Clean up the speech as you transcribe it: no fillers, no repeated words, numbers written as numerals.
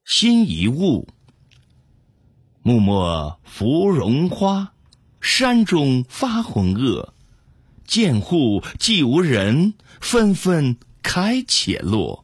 新一物。木末芙蓉花，山中发红萼。见户既无人，纷纷开且落。